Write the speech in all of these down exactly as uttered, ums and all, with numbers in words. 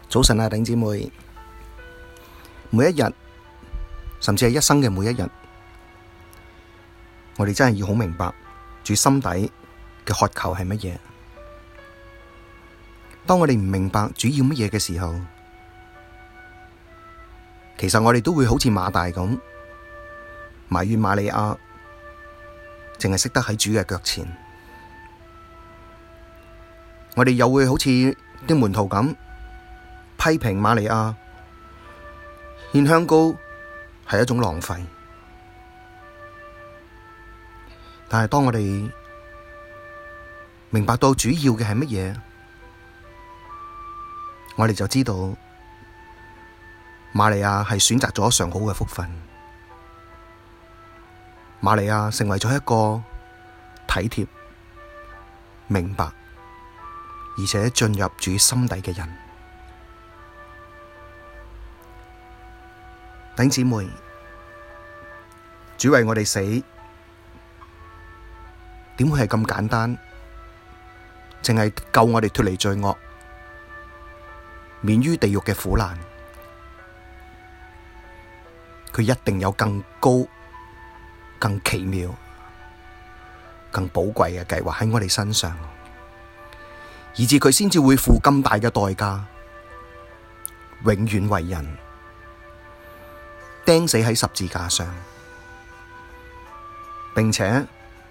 早晨啊，弟兄姊妹，每一日，甚至係一生嘅每一日，我哋真係要好明白主心底嘅渴求係乜嘢。當我哋唔明白主要乜嘢嘅時候，其實我哋都會好似馬大咁埋怨瑪利亞，淨係識得喺主嘅腳前。我哋又會好似啲門徒咁批評瑪利亞獻香膏係一種浪費。但係當我哋明白到主要嘅係乜嘢，我哋就知道瑪利亞係選擇咗上好嘅福分。瑪利亞成為咗一個體貼、明白而且進入主心底嘅人。弟兄姊妹，主為我哋死，點會係咁簡單？淨係救我哋脫離罪惡，免於地獄嘅苦難。佢一定有更高、更奇妙、更寶貴嘅計劃喺我哋身上，以致佢先至會付咁大嘅代價，永遠為人釘死喺十字架上，並且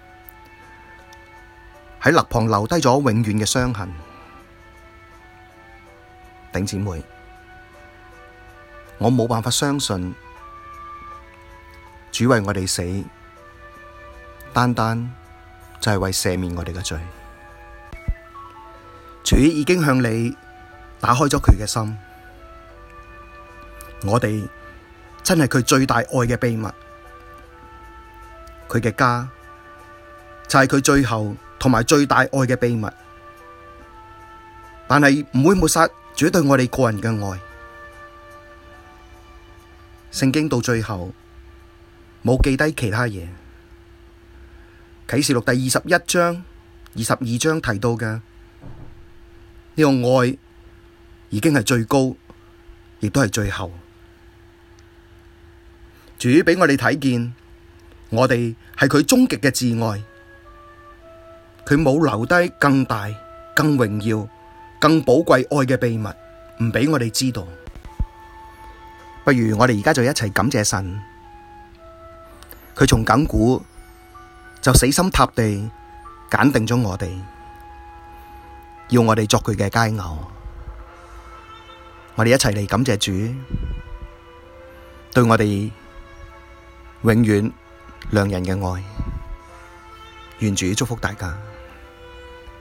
喺肋旁留低咗永遠嘅傷痕。弟兄姊妹，我冇辦法相信主為我哋死，單單就係為赦免我哋嘅罪。主已經向你打開咗佢嘅心，我哋真係佢最大愛嘅秘密，佢嘅家就係佢最後同埋最大愛嘅秘密，但係唔會抹殺主對我哋個人嘅愛。聖經到最後冇記低其他嘢，啟示錄第二十一章、二十二章提到嘅呢個愛已經係最高，亦都係最後。主畀我哋睇見，我哋係佢終極嘅摯愛，佢冇留低更大、更榮耀、更寶貴愛嘅秘密，唔畀我哋知道。不如我哋而家就一齊感謝神，佢從亙古就死心塌地揀定咗我哋，要我哋作佢嘅佳偶。我哋一齊嚟感謝主，對我哋永遠良人嘅愛。願主祝福大家。